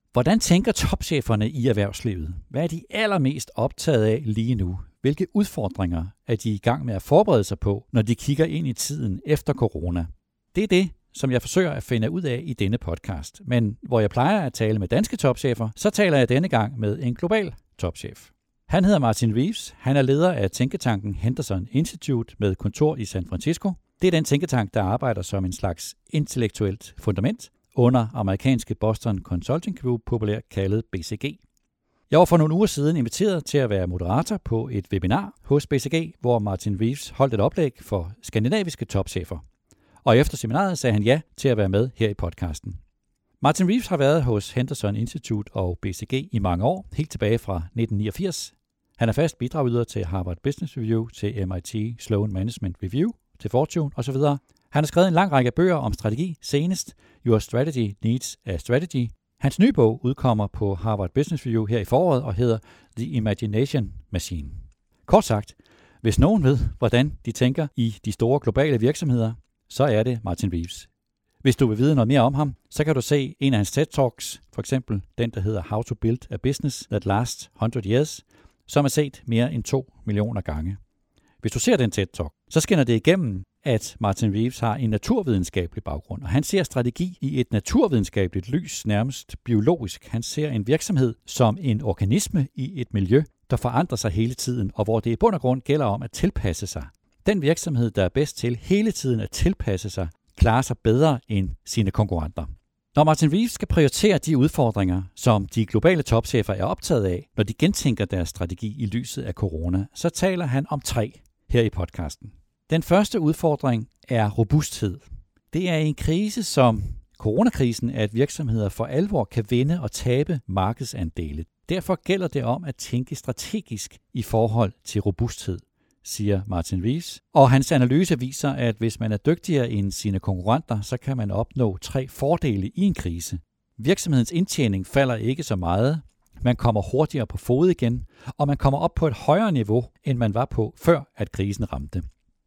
Hvordan tænker topcheferne i erhvervslivet? Hvad er de allermest optaget af lige nu? Hvilke udfordringer er de i gang med at forberede sig på, når de kigger ind i tiden efter corona? Det er det, som jeg forsøger at finde ud af i denne podcast. Men hvor jeg plejer at tale med danske topchefer, så taler jeg denne gang med en global topchef. Han hedder Martin Reeves. Han er leder af tænketanken Henderson Institute med kontor i San Francisco. Det er den tænketank, der arbejder som en slags intellektuelt fundament under amerikanske Boston Consulting Group, populært kaldet BCG. Jeg var for nogle uger siden inviteret til at være moderator på et webinar hos BCG, hvor Martin Reeves holdt et oplæg for skandinaviske topchefer. Og efter seminaret sagde han ja til at være med her i podcasten. Martin Reeves har været hos Henderson Institute og BCG i mange år, helt tilbage fra 1989. Han er fast bidragyder til Harvard Business Review, til MIT Sloan Management Review, til Fortune osv. Han har skrevet en lang række bøger om strategi, senest Your Strategy Needs a Strategy. Hans nye bog udkommer på Harvard Business Review her i foråret og hedder The Imagination Machine. Kort sagt, hvis nogen ved, hvordan de tænker i de store globale virksomheder, så er det Martin Reeves. Hvis du vil vide noget mere om ham, så kan du se en af hans TED-talks, for eksempel den, der hedder How to Build a Business That Lasts 100 Years, som er set mere end 2 millioner gange. Hvis du ser den TED-talk, så skinner det igennem, at Martin Reeves har en naturvidenskabelig baggrund, og han ser strategi i et naturvidenskabeligt lys, nærmest biologisk. Han ser en virksomhed som en organisme i et miljø, der forandrer sig hele tiden, og hvor det i bund og grund gælder om at tilpasse sig. Den virksomhed, der er bedst til hele tiden at tilpasse sig, klarer sig bedre end sine konkurrenter. Når Martin Reeves skal prioritere de udfordringer, som de globale topchefer er optaget af, når de gentænker deres strategi i lyset af corona, så taler han om 3 her i podcasten. Den første udfordring er robusthed. Det er en krise som coronakrisen, at virksomheder for alvor kan vinde og tabe markedsandele. Derfor gælder det om at tænke strategisk i forhold til robusthed, siger Martin Reeves. Og hans analyse viser, at hvis man er dygtigere end sine konkurrenter, så kan man opnå 3 fordele i en krise. Virksomhedens indtjening falder ikke så meget, man kommer hurtigere på fod igen, og man kommer op på et højere niveau, end man var på før, at krisen ramte.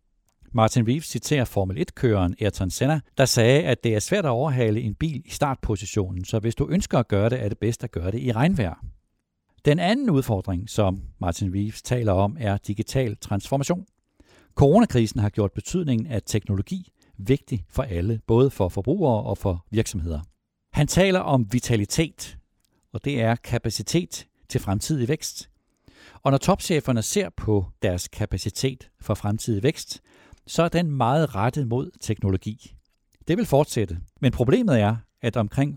Martin Reeves citerer Formel 1-køreren Ayrton Senna, der sagde, at det er svært at overhale en bil i startpositionen, så hvis du ønsker at gøre det, er det bedst at gøre det i regnvejr. Den anden udfordring, som Martin Reeves taler om, er digital transformation. Coronakrisen har gjort betydningen af teknologi vigtig for alle, både for forbrugere og for virksomheder. Han taler om vitalitet, og det er kapacitet til fremtidig vækst. Og når topcheferne ser på deres kapacitet for fremtidig vækst, så er den meget rettet mod teknologi. Det vil fortsætte, men problemet er, at omkring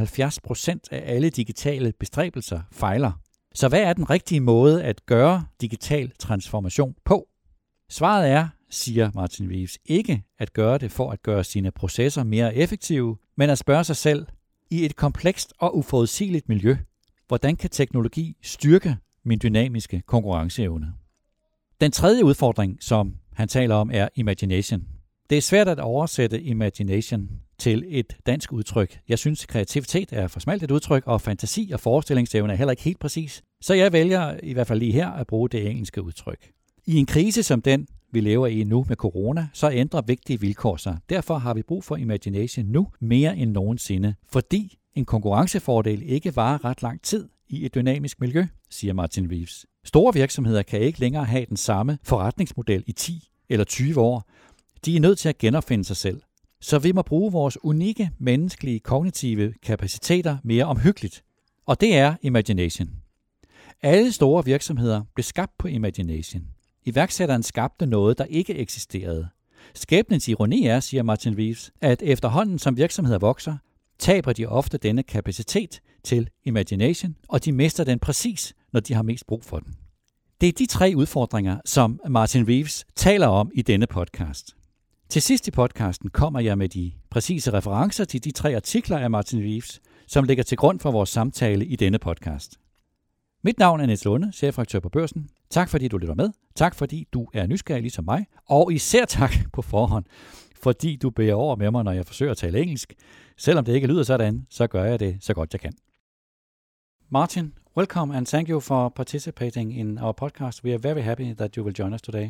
75% af alle digitale bestræbelser fejler. Så hvad er den rigtige måde at gøre digital transformation på? Svaret er, siger Martin Reeves, ikke at gøre det for at gøre sine processer mere effektive, men at spørge sig selv, i et komplekst og uforudsigeligt miljø, hvordan kan teknologi styrke min dynamiske konkurrenceevne? Den tredje udfordring, som han taler om, er imagination. Det er svært at oversætte imagination til et dansk udtryk. Jeg synes, kreativitet er for smalt et udtryk, og fantasi og forestillingsevne er heller ikke helt præcis. Så jeg vælger i hvert fald lige her at bruge det engelske udtryk. I en krise som den, vi lever i nu med corona, så ændrer vigtige vilkår sig. Derfor har vi brug for imagination nu mere end nogensinde, fordi en konkurrencefordel ikke varer ret lang tid i et dynamisk miljø, siger Martin Reeves. Store virksomheder kan ikke længere have den samme forretningsmodel i 10 eller 20 år. De er nødt til at genopfinde sig selv. Så vi må bruge vores unikke menneskelige kognitive kapaciteter mere omhyggeligt. Og det er imagination. Alle store virksomheder blev skabt på imagination. Iværksætteren skabte noget, der ikke eksisterede. Skæbnens ironi er, siger Martin Reeves, at efterhånden som virksomheder vokser, taber de ofte denne kapacitet til imagination, og de mister den præcis, når de har mest brug for den. Det er de 3 udfordringer, som Martin Reeves taler om i denne podcast. Til sidst i podcasten kommer jeg med de præcise referencer til de 3 artikler af Martin Reeves, som ligger til grund for vores samtale i denne podcast. Mit navn er Niels Lunde, chefredaktør på Børsen. Tak fordi du lytter med. Tak fordi du er nysgerrig ligesom mig. Og især tak på forhånd, fordi du bærer over med mig, når jeg forsøger at tale engelsk. Selvom det ikke lyder sådan, så gør jeg det så godt jeg kan. Martin, welcome and thank you for participating in our podcast. We are very happy that you will join us today.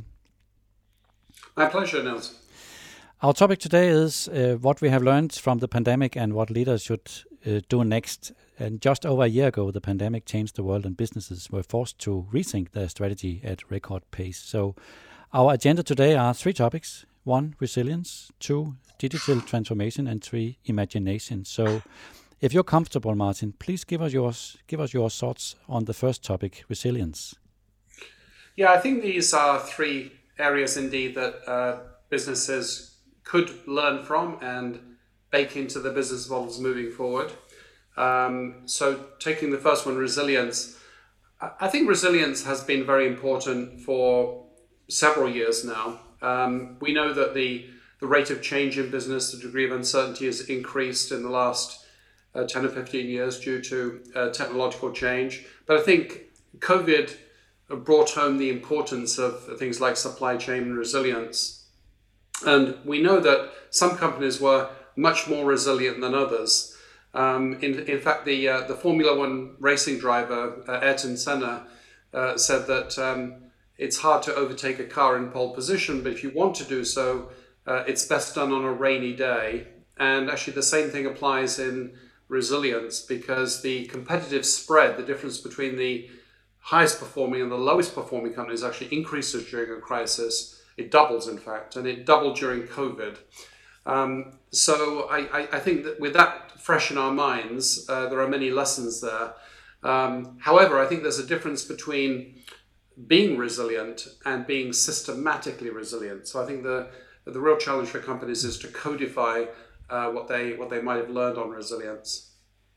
My pleasure, Niels. Our topic today is what we have learned from the pandemic and what leaders should do next. And just over a year ago, the pandemic changed the world and businesses were forced to rethink their strategy at record pace. So our agenda today are 3 topics. 1, resilience. 2, digital transformation. And 3, imagination. So if you're comfortable, Martin, please give us your thoughts on the first topic, resilience. Yeah, I think these are 3 areas indeed that businesses could learn from and bake into the business models moving forward. So taking the first one, resilience. I think resilience has been very important for several years now. We know that the rate of change in business, the degree of uncertainty has increased in the last 10 or 15 years due to technological change. But I think COVID brought home the importance of things like supply chain resilience. And we know that some companies were much more resilient than others. In fact, the Formula One racing driver, Ayrton Senna, said that it's hard to overtake a car in pole position, but if you want to do so, it's best done on a rainy day. And actually the same thing applies in resilience, because the competitive spread, the difference between the highest performing and the lowest performing companies actually increases during a crisis. It doubles, in fact, and it doubled during COVID. So I think that with that fresh in our minds, there are many lessons there. However, I think there's a difference between being resilient and being systematically resilient. So I think the real challenge for companies is to codify what they might have learned on resilience.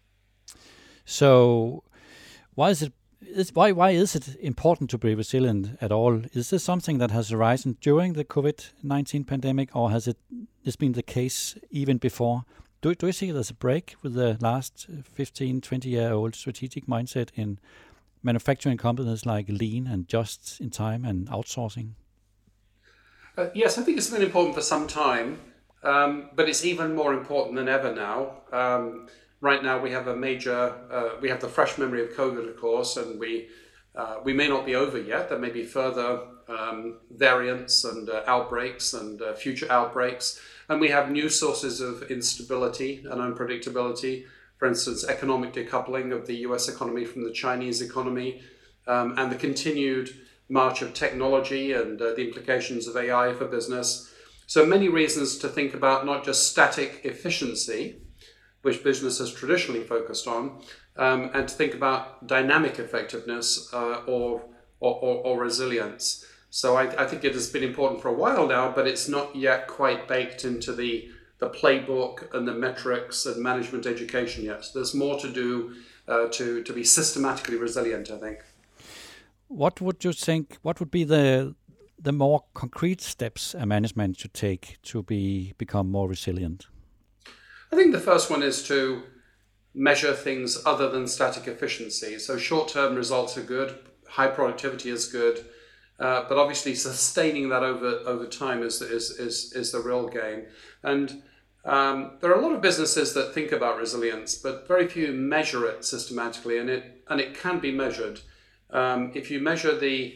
So why is it important to be resilient at all? Is this something that has arisen during the COVID-19 pandemic, or has this been the case even before? Do you see there's a break with the last 15, 20-year-old strategic mindset in manufacturing companies like lean and just in time and outsourcing? Yes, I think it's been important for some time, but it's even more important than ever now. Right now, we have we have the fresh memory of COVID, of course, and we may not be over yet. There may be further variants and outbreaks and future outbreaks. And we have new sources of instability and unpredictability. For instance, economic decoupling of the US economy from the Chinese economy, and the continued march of technology and the implications of AI for business. So many reasons to think about not just static efficiency, which business has traditionally focused on, and to think about dynamic effectiveness or resilience. So I think it has been important for a while now, but it's not yet quite baked into the playbook and the metrics and management education yet. So there's more to do to be systematically resilient, I think. What would you think, what would be the more concrete steps a management should take to become more resilient? I think the first one is to measure things other than static efficiency. So short-term results are good, high productivity is good, but obviously sustaining that over time is the real game. And there are a lot of businesses that think about resilience, but very few measure it systematically, and it can be measured. If you measure the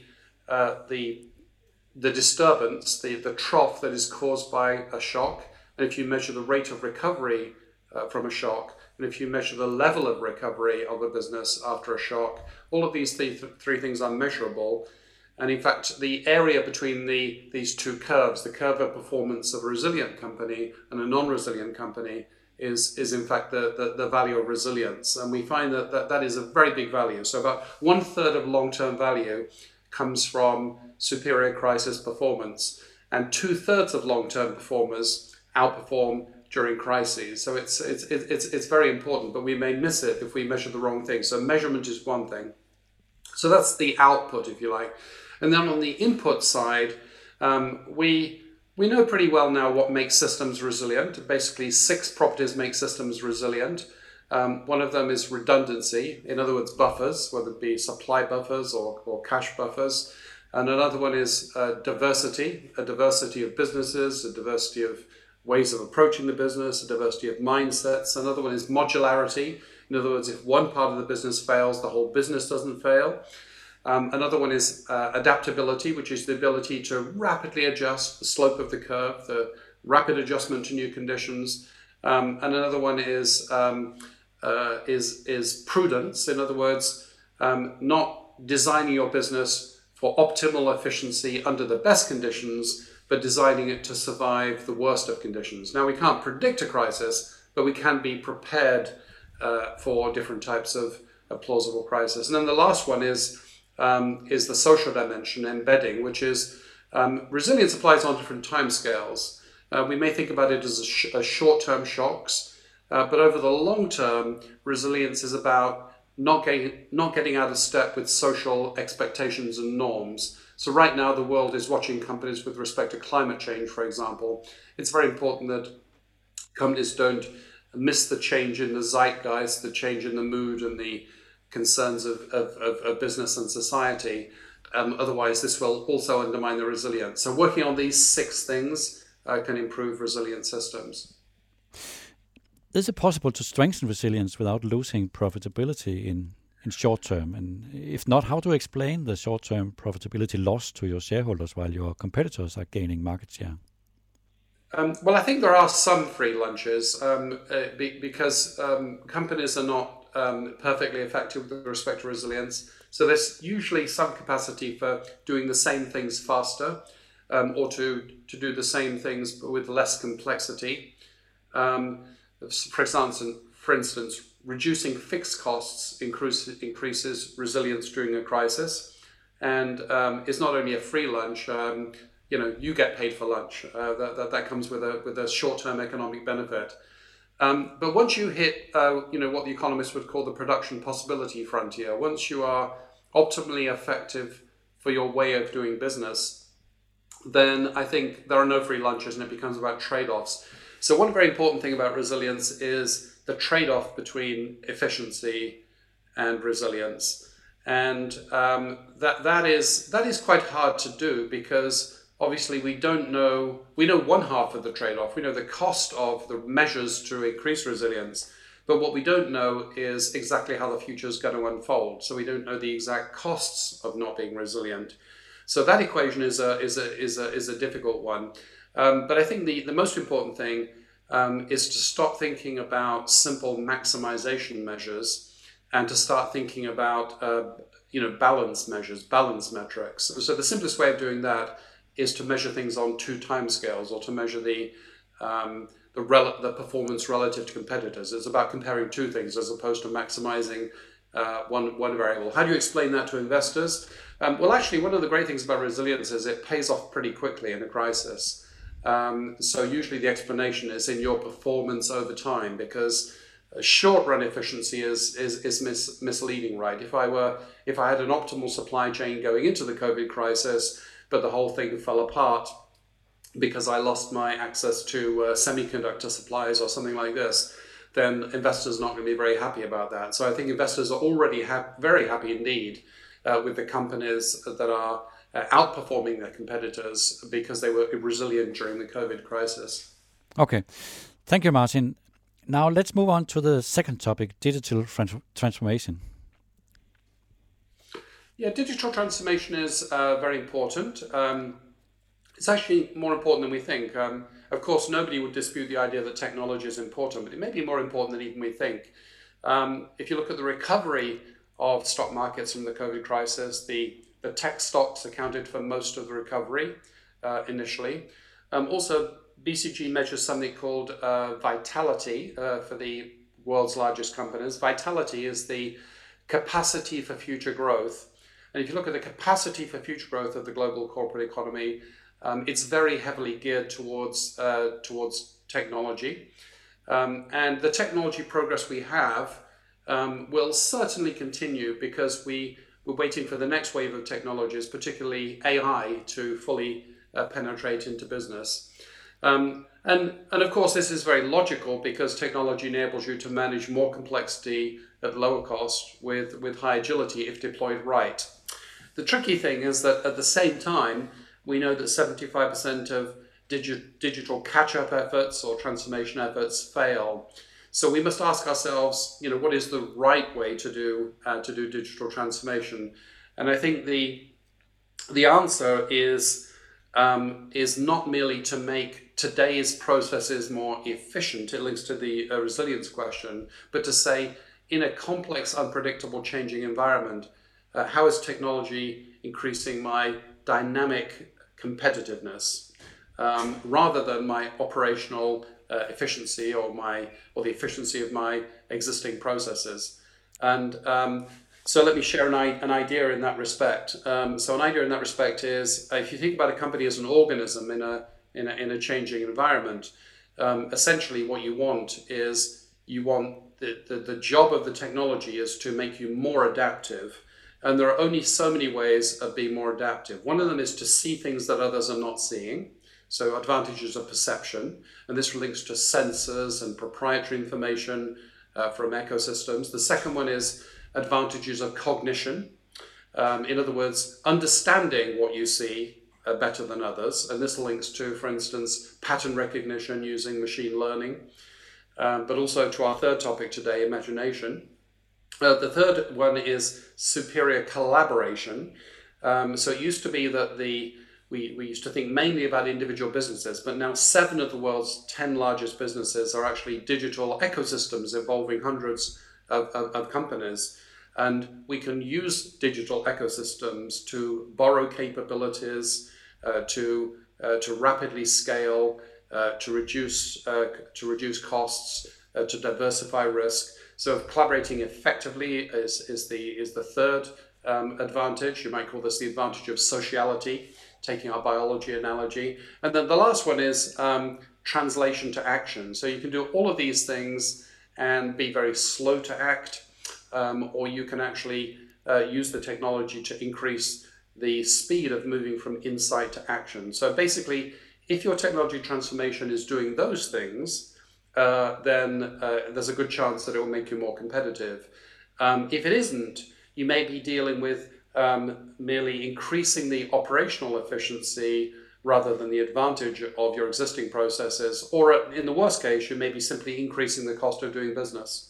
disturbance, the trough that is caused by a shock, and if you measure the rate of recovery from a shock, and if you measure the level of recovery of a business after a shock, all of these three things are measurable. And in fact, the area between these two curves, the curve of performance of a resilient company and a non-resilient company, is in fact the value of resilience. And we find that is a very big value. So about 1/3 of long-term value comes from superior crisis performance, and 2/3 of long-term performers outperform during crises. So it's very important, but we may miss it if we measure the wrong thing. So measurement is one thing. So that's the output, if you like. And then on the input side, we know pretty well now what makes systems resilient. Basically, 6 properties make systems resilient. One of them is redundancy, in other words, buffers, whether it be supply buffers or cash buffers. And another one is diversity, a diversity of businesses, a diversity of ways of approaching the business, a diversity of mindsets. Another one is modularity. In other words, if one part of the business fails, the whole business doesn't fail. Another one is adaptability, which is the ability to rapidly adjust the slope of the curve, the rapid adjustment to new conditions. And another one is is prudence. In other words, not designing your business for optimal efficiency under the best conditions, but designing it to survive the worst of conditions. Now, we can't predict a crisis, but we can be prepared for different types of plausible crisis. And then the last one is the social dimension, embedding, which is resilience applies on different timescales. We may think about it as short-term shocks, but over the long term, resilience is about not getting out of step with social expectations and norms. So right now, the world is watching companies with respect to climate change, for example. It's very important that companies don't miss the change in the zeitgeist, the change in the mood and the concerns of business and society. Otherwise, this will also undermine the resilience. So working on these 6 things can improve resilient systems. Is it possible to strengthen resilience without losing profitability in short term? And if not, how to explain the short-term profitability loss to your shareholders while your competitors are gaining market share? Well, I think there are some free lunches because companies are not perfectly effective with respect to resilience. So there's usually some capacity for doing the same things faster or to do the same things but with less complexity. For instance, reducing fixed costs increases resilience during a crisis, and it's not only a free lunch. You get paid for lunch. That comes with a short-term economic benefit. But once you hit, what the economists would call the production possibility frontier, once you are optimally effective for your way of doing business, then I think there are no free lunches, and it becomes about trade-offs. So one very important thing about resilience is the trade-off between efficiency and resilience. And that is quite hard to do because obviously we know one half of the trade-off. We know the cost of the measures to increase resilience, but what we don't know is exactly how the future is going to unfold. So we don't know the exact costs of not being resilient. So that equation is a difficult one. But I think the most important thing is to stop thinking about simple maximization measures and to start thinking about balance measures, balance metrics. So the simplest way of doing that is to measure things on 2 timescales, or to measure the performance relative to competitors. It's about comparing 2 things as opposed to maximizing one variable. How do you explain that to investors? Well, actually, one of the great things about resilience is it pays off pretty quickly in a crisis. So usually the explanation is in your performance over time, because short-run efficiency is misleading, right? If I had an optimal supply chain going into the COVID crisis, but the whole thing fell apart because I lost my access to semiconductor supplies or something like this, then investors are not going to be very happy about that. So I think investors are already very happy indeed with the companies that are outperforming their competitors because they were resilient during the COVID crisis. Okay. Thank you, Martin. Now let's move on to the second topic, digital transformation. Yeah, digital transformation is very important. It's actually more important than we think. Of course, nobody would dispute the idea that technology is important, but it may be more important than even we think. If you look at the recovery of stock markets from the COVID crisis, the tech stocks accounted for most of the recovery initially. Also, BCG measures something called vitality for the world's largest companies. Vitality is the capacity for future growth. And if you look at the capacity for future growth of the global corporate economy, it's very heavily geared towards technology. And the technology progress we have will certainly continue because we're waiting for the next wave of technologies, particularly AI, to fully penetrate into business. And of course, this is very logical because technology enables you to manage more complexity at lower cost with high agility if deployed right. The tricky thing is that at the same time, we know that 75% of digital catch-up efforts or transformation efforts fail. So we must ask ourselves, what is the right way to do digital transformation? And I think the answer is not merely to make today's processes more efficient? It links to the resilience question, but to say in a complex, unpredictable, changing environment, how is technology increasing my dynamic competitiveness rather than my operational efficiency or the efficiency of my existing processes? And so let me share an idea in that respect. So an idea in that respect is if you think about a company as an organism in a changing environment, essentially what you want is the job of the technology is to make you more adaptive. And there are only so many ways of being more adaptive. One of them is to see things that others are not seeing. So advantages of perception. And this links to sensors and proprietary information from ecosystems. The second one is advantages of cognition. In other words, understanding what you see better than others. And this links to, for instance, pattern recognition using machine learning. But also to our third topic today, imagination. The third one is superior collaboration. So it used to be that we used to think mainly about individual businesses, but now 7 of the world's 10 largest businesses are actually digital ecosystems involving hundreds of companies. And we can use digital ecosystems to borrow capabilities, to rapidly scale, to reduce costs, to diversify risk. So collaborating effectively is the third advantage. You might call this the advantage of sociality, taking our biology analogy. And then the last one is translation to action. So you can do all of these things and be very slow to act, or you can actually use the technology to increase the speed of moving from insight to action. So basically, if your technology transformation is doing those things, then there's a good chance that it will make you more competitive. If it isn't, you may be dealing with merely increasing the operational efficiency rather than the advantage of your existing processes, or in the worst case, you may be simply increasing the cost of doing business.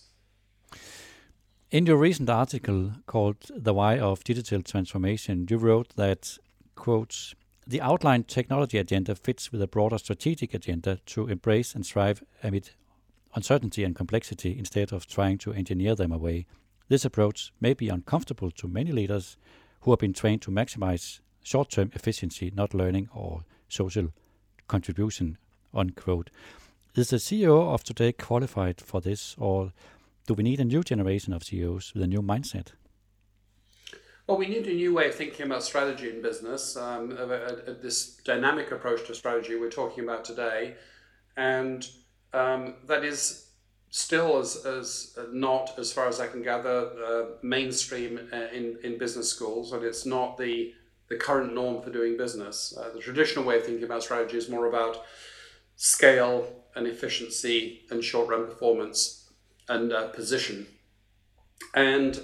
In your recent article called The Why of Digital Transformation, you wrote that, quote, the outlined technology agenda fits with a broader strategic agenda to embrace and thrive amid uncertainty and complexity instead of trying to engineer them away. This approach may be uncomfortable to many leaders who have been trained to maximize short-term efficiency, not learning or social contribution, unquote. Is the CEO of today qualified for this, or do we need a new generation of CEOs with a new mindset? Well, we need a new way of thinking about strategy in business, this dynamic approach to strategy we're talking about today. And that is still as not, as far as I can gather, mainstream in business schools, and it's not the current norm for doing business. The traditional way of thinking about strategy is more about scale and efficiency and short-run performance and position. And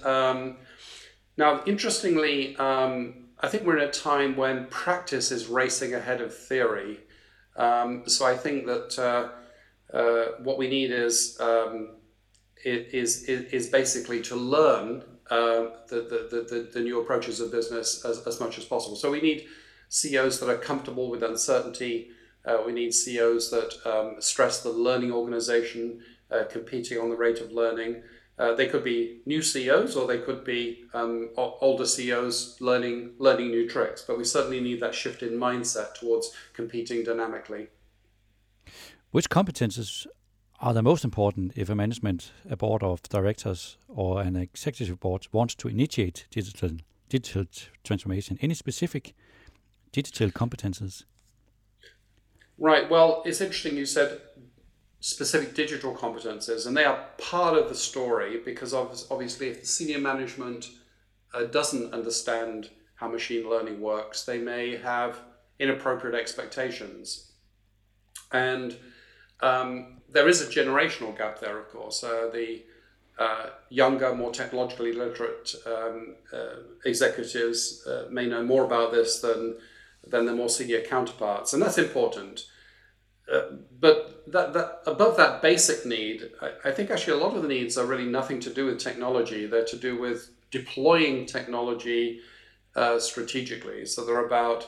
now, interestingly, I think we're in a time when practice is racing ahead of theory. So I think that what we need is basically to learn the new approaches of business as much as possible. So we need CEOs that are comfortable with uncertainty. We need CEOs that stress the learning organization, competing on the rate of learning. They could be new CEOs, or they could be older CEOs learning new tricks. But we certainly need that shift in mindset towards competing dynamically. Which competences are the most important if a board of directors or an executive board wants to initiate digital transformation? Any specific digital competences? Right. Well, it's interesting you said specific digital competences, and they are part of the story, because obviously if the senior management doesn't understand how machine learning works, they may have inappropriate expectations. And there is a generational gap there, of course. The younger, more technologically literate executives may know more about this than their more senior counterparts, and that's important. But that above that basic need, I think actually a lot of the needs are really nothing to do with technology. They're to do with deploying technology strategically. So they're about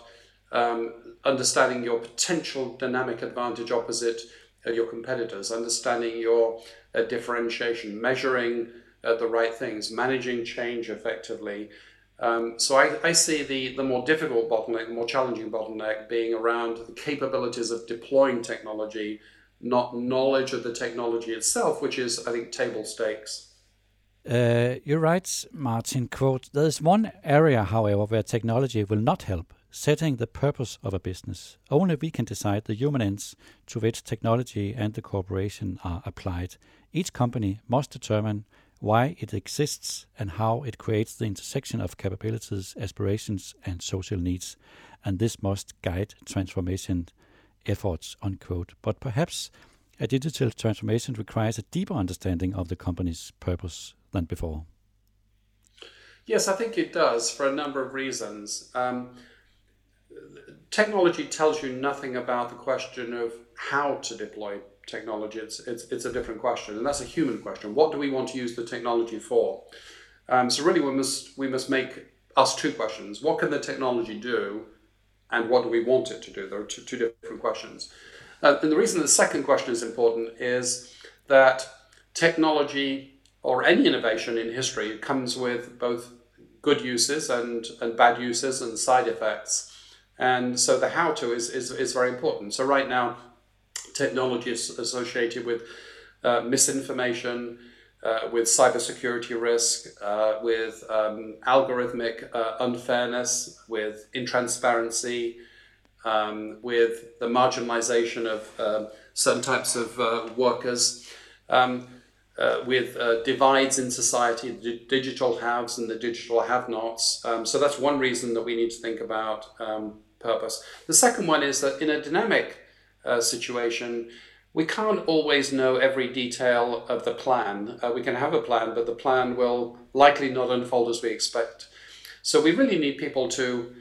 understanding your potential dynamic advantage opposite your competitors, understanding your differentiation, measuring the right things, managing change effectively. So I see the more difficult bottleneck, the more challenging bottleneck being around the capabilities of deploying technology, not knowledge of the technology itself, which is, I think, table stakes. You're right, Martin. Quote, there is one area, however, where technology will not help, setting the purpose of a business. Only we can decide the human ends to which technology and the corporation are applied. Each company must determine why it exists and how it creates the intersection of capabilities, aspirations, and social needs. And this must guide transformation efforts, unquote. But perhaps a digital transformation requires a deeper understanding of the company's purpose than before. Yes, I think it does for a number of reasons. Technology tells you nothing about the question of how to deploy technology. It's a different question, and that's a human question. What do we want to use the technology for? So really, we must ask two questions. What can the technology do, and what do we want it to do? There are two different questions. And the reason the second question is important is that technology or any innovation in history comes with both good uses and bad uses and side effects. And so the how-to is very important. So right now, technology is associated with misinformation, with cybersecurity risk, with algorithmic unfairness, with intransparency, with the marginalization of certain types of workers, with divides in society, the digital haves and the digital have-nots. So that's one reason that we need to think about purpose. The second one is that in a dynamic situation, we can't always know every detail of the plan. We can have a plan, but the plan will likely not unfold as we expect. So we really need people to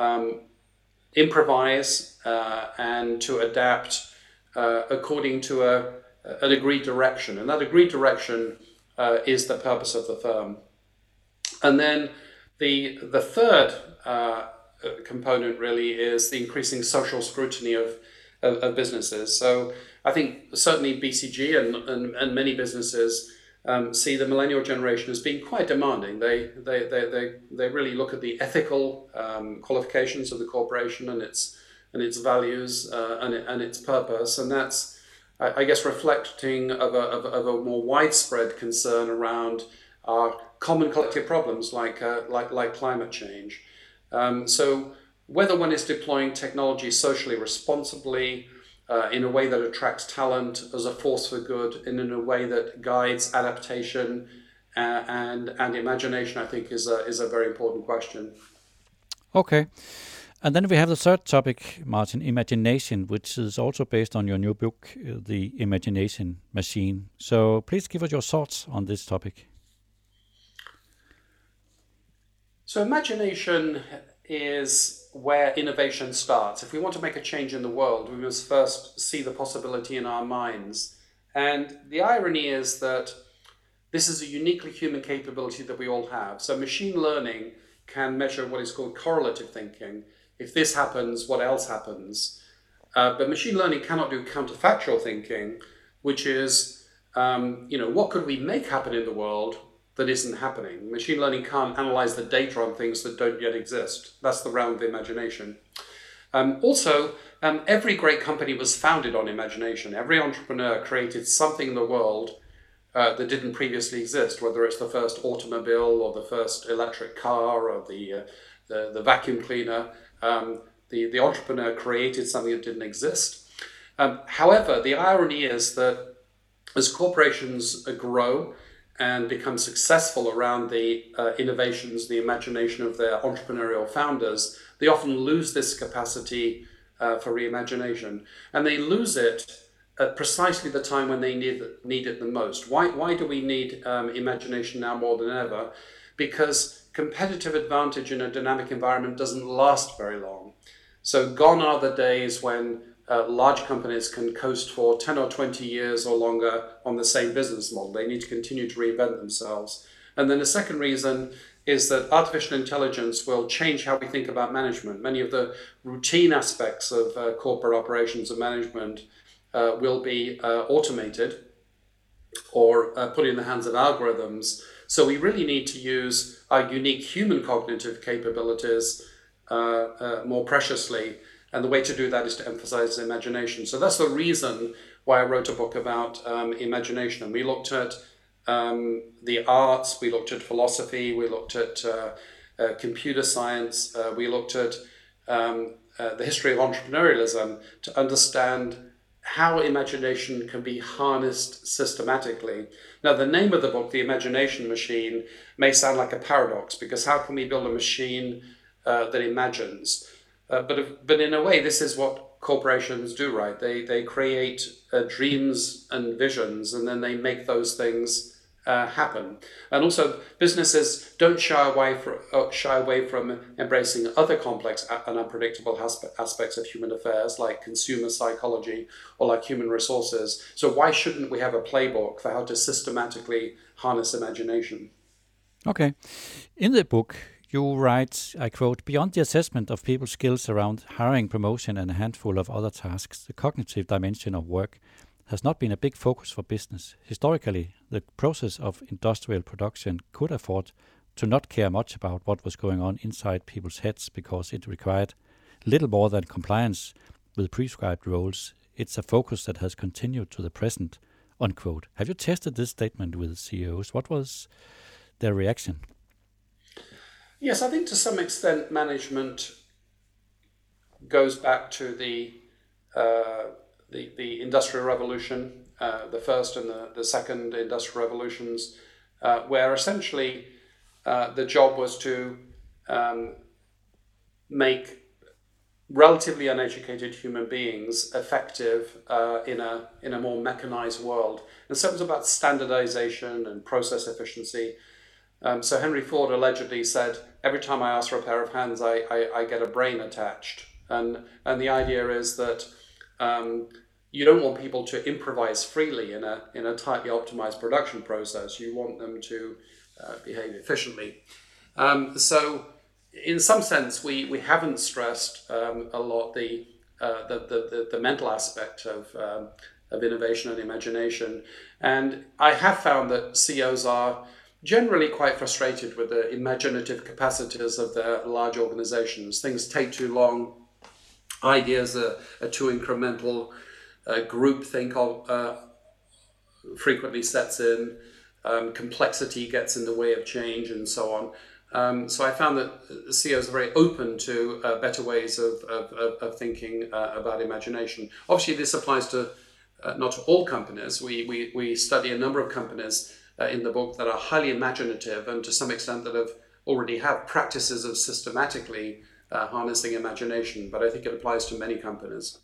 improvise and to adapt according to an agreed direction. And that agreed direction is the purpose of the firm. And then the third component really is the increasing social scrutiny of businesses. So I think certainly BCG and many businesses see the millennial generation as being quite demanding. They really look at the ethical qualifications of the corporation and its values and its purpose, and that's, I guess, reflecting of a more widespread concern around our common collective problems like climate change. So whether one is deploying technology socially responsibly, in a way that attracts talent as a force for good, and in a way that guides adaptation and imagination, I think is a very important question. Okay. And then we have the third topic, Martin, imagination, which is also based on your new book, The Imagination Machine. So please give us your thoughts on this topic. So imagination is where innovation starts. If we want to make a change in the world, we must first see the possibility in our minds. And the irony is that this is a uniquely human capability that we all have. So machine learning can measure what is called correlative thinking. If this happens, what else happens? But machine learning cannot do counterfactual thinking, which is, what could we make happen in the world that isn't happening? Machine learning can't analyze the data on things that don't yet exist. That's the realm of imagination. Every great company was founded on imagination. Every entrepreneur created something in the world that didn't previously exist, whether it's the first automobile or the first electric car or the vacuum cleaner. The entrepreneur created something that didn't exist. However, the irony is that as corporations grow and become successful around the innovations, the imagination of their entrepreneurial founders, they often lose this capacity for reimagination. And they lose it at precisely the time when they need it the most. Why do we need imagination now more than ever? Because competitive advantage in a dynamic environment doesn't last very long. So gone are the days when large companies can coast for 10 or 20 years or longer on the same business model. They need to continue to reinvent themselves. And then the second reason is that artificial intelligence will change how we think about management. Many of the routine aspects of corporate operations and management will be automated or put in the hands of algorithms. So we really need to use our unique human cognitive capabilities more preciously. And the way to do that is to emphasize imagination. So that's the reason why I wrote a book about imagination. And we looked at the arts, we looked at philosophy, we looked at computer science, we looked at the history of entrepreneurialism to understand how imagination can be harnessed systematic. Now, the name of the book, The Imagination Machine, may sound like a paradox, because how can we build a machine that imagines? But in a way, this is what corporations do, right? They create dreams and visions, and then they make those things happen. And also, businesses don't shy away from embracing other complex and unpredictable aspects of human affairs, like consumer psychology or like human resources. So why shouldn't we have a playbook for how to systematically harness imagination? Okay. In the book, you write, I quote, "Beyond the assessment of people's skills around hiring, promotion, and a handful of other tasks, the cognitive dimension of work has not been a big focus for business. Historically, the process of industrial production could afford to not care much about what was going on inside people's heads because it required little more than compliance with prescribed roles. It's a focus that has continued to the present," unquote. Have you tested this statement with CEOs? What was their reaction? Yes, I think to some extent management goes back to the Industrial Revolution, the first and the second Industrial Revolutions, where essentially the job was to make relatively uneducated human beings effective in a more mechanized world. And so it was about standardization and process efficiency. So Henry Ford allegedly said, "Every time I ask for a pair of hands, I get a brain attached." And the idea is that you don't want people to improvise freely in a tightly optimized production process. You want them to behave efficiently. So in some sense, we haven't stressed a lot the mental aspect of innovation and imagination. And I have found that CEOs are generally quite frustrated with the imaginative capacities of their large organizations. Things take too long, ideas are too incremental, groupthink frequently sets in, complexity gets in the way of change, and so on. So I found that CEOs are very open to better ways of thinking about imagination. Obviously, this applies to not to all companies. We study a number of companies in the book that are highly imaginative and to some extent that already have practices of systematically harnessing imagination. But I think it applies to many companies.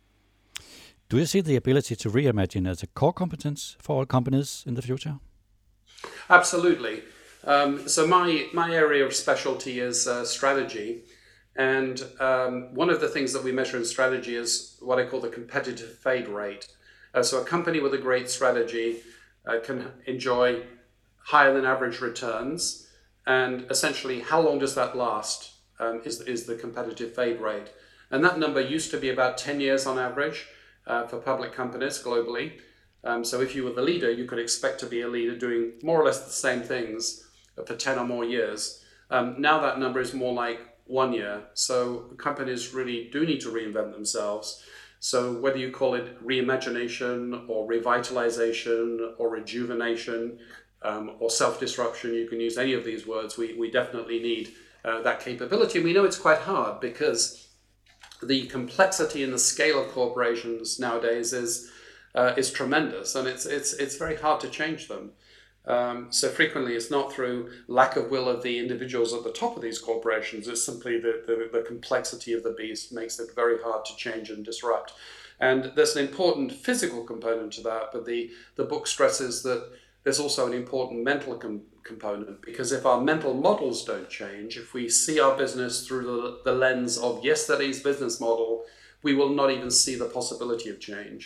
Do you see the ability to reimagine as a core competence for all companies in the future? Absolutely. So my area of specialty is strategy. And one of the things that we measure in strategy is what I call the competitive fade rate. So a company with a great strategy can enjoy higher than average returns. And essentially, how long does that last is the competitive fade rate. And that number used to be about 10 years on average for public companies globally. So if you were the leader, you could expect to be a leader doing more or less the same things for 10 or more years. Now that number is more like 1 year. So companies really do need to reinvent themselves. So whether you call it reimagination or revitalization or rejuvenation or self-disruption, you can use any of these words. We definitely need that capability. And we know it's quite hard because the complexity and the scale of corporations nowadays is tremendous, and it's very hard to change them. So frequently it's not through lack of will of the individuals at the top of these corporations, it's simply the complexity of the beast makes it very hard to change and disrupt. And there's an important physical component to that, but the book stresses that there's also an important mental component, because if our mental models don't change, if we see our business through the lens of yesterday's business model, we will not even see the possibility of change.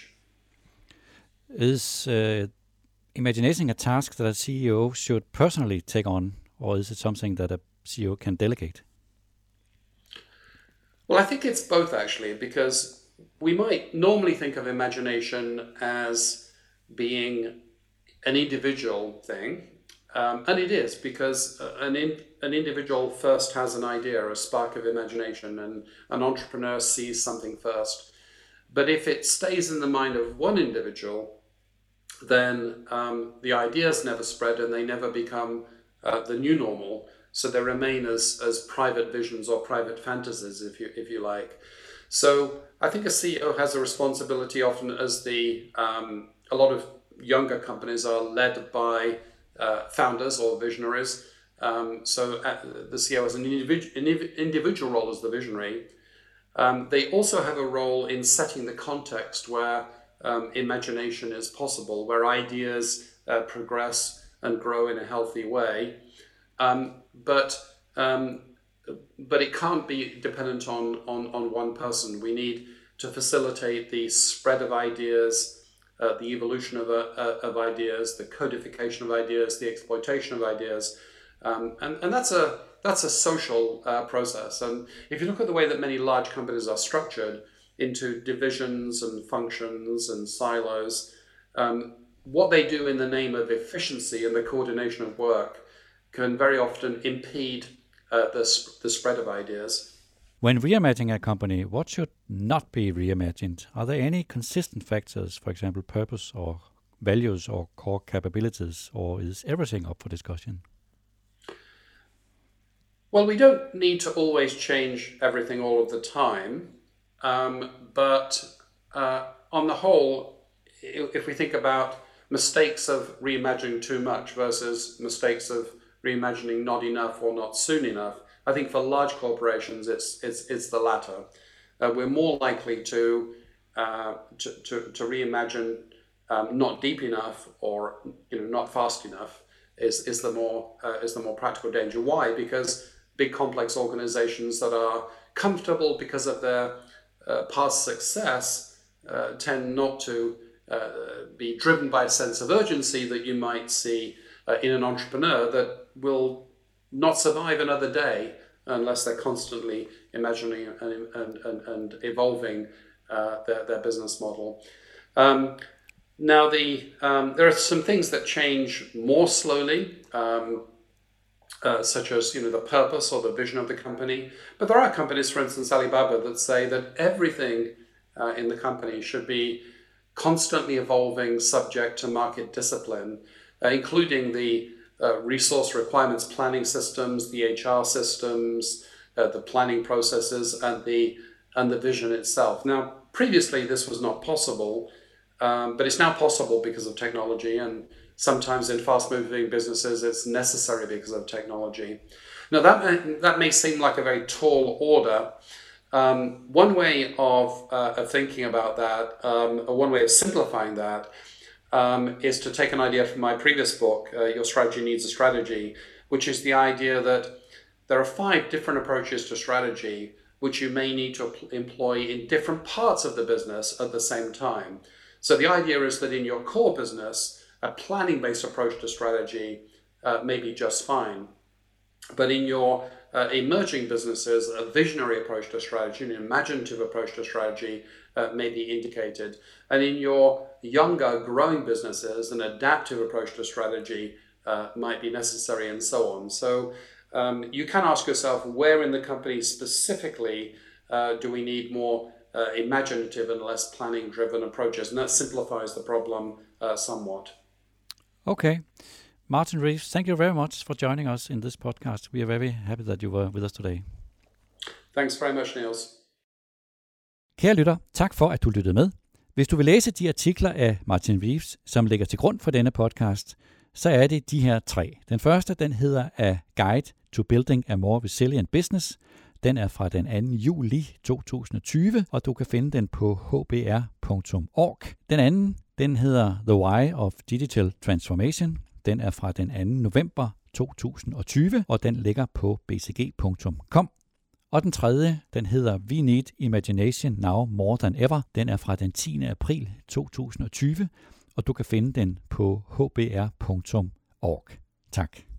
Is imagination a task that a CEO should personally take on, or is it something that a CEO can delegate? Well, I think it's both actually, because we might normally think of imagination as being an individual thing, and it is, because an individual first has an idea, a spark of imagination, and an entrepreneur sees something first. But if it stays in the mind of one individual, then the ideas never spread and they never become the new normal. So they remain as private visions or private fantasies, if you like. So I think a CEO has a responsibility often, as a lot of younger companies are led by founders or visionaries. So the CEO has an individual role as the visionary. They also have a role in setting the context where imagination is possible, where ideas progress and grow in a healthy way. But it can't be dependent on one person. We need to facilitate the spread of ideas, the evolution of ideas, the codification of ideas, the exploitation of ideas, and that's a social process. And if you look at the way that many large companies are structured into divisions and functions and silos, what they do in the name of efficiency and the coordination of work can very often impede the spread of ideas. When reimagining a company, what should not be reimagined? Are there any consistent factors, for example, purpose or values or core capabilities, or is everything up for discussion? Well, we don't need to always change everything all of the time, but on the whole, if we think about mistakes of reimagining too much versus mistakes of reimagining not enough or not soon enough, I think for large corporations it's the latter. We're more likely to reimagine not deep enough or not fast enough is the more practical danger. Why? Because big complex organizations that are comfortable because of their past success tend not to be driven by a sense of urgency that you might see in an entrepreneur that will not survive another day unless they're constantly imagining and evolving their business model. Now, there are some things that change more slowly, such as the purpose or the vision of the company. But there are companies, for instance, Alibaba, that say that everything in the company should be constantly evolving, subject to market discipline, including the resource requirements planning systems, the HR systems, the planning processes, and the vision itself. Now, previously this was not possible, but it's now possible because of technology, and sometimes in fast-moving businesses it's necessary because of technology. Now that may seem like a very tall order. One way of thinking about that, or one way of simplifying that, is to take an idea from my previous book, Your Strategy Needs a Strategy, which is the idea that there are 5 different approaches to strategy which you may need to employ in different parts of the business at the same time. So the idea is that in your core business, a planning-based approach to strategy may be just fine. But in your emerging businesses, a visionary approach to strategy, an imaginative approach to strategy may be indicated. And in your younger, growing businesses, an adaptive approach to strategy might be necessary, and so on. So you can ask yourself, where in the company specifically do we need more imaginative and less planning-driven approaches? And that simplifies the problem somewhat. Okay. Martin Reeves, thank you very much for joining us in this podcast. We are very happy that you were with us today. Thanks very much, Niels. Kære lytter, tak for, at du lyttede med. Hvis du vil læse de artikler af Martin Reeves, som ligger til grund for denne podcast, så er det de her 3. Den første, den hedder A Guide to Building a More Resilient Business. Den er fra den 2. juli 2020, og du kan finde den på hbr.org. Den anden, den hedder The Why of Digital Transformation. Den er fra den 2. november 2020, og den ligger på bcg.com. Og den tredje, den hedder We Need Imagination Now More Than Ever. Den er fra den 10. april 2020, og du kan finde den på hbr.org. Tak.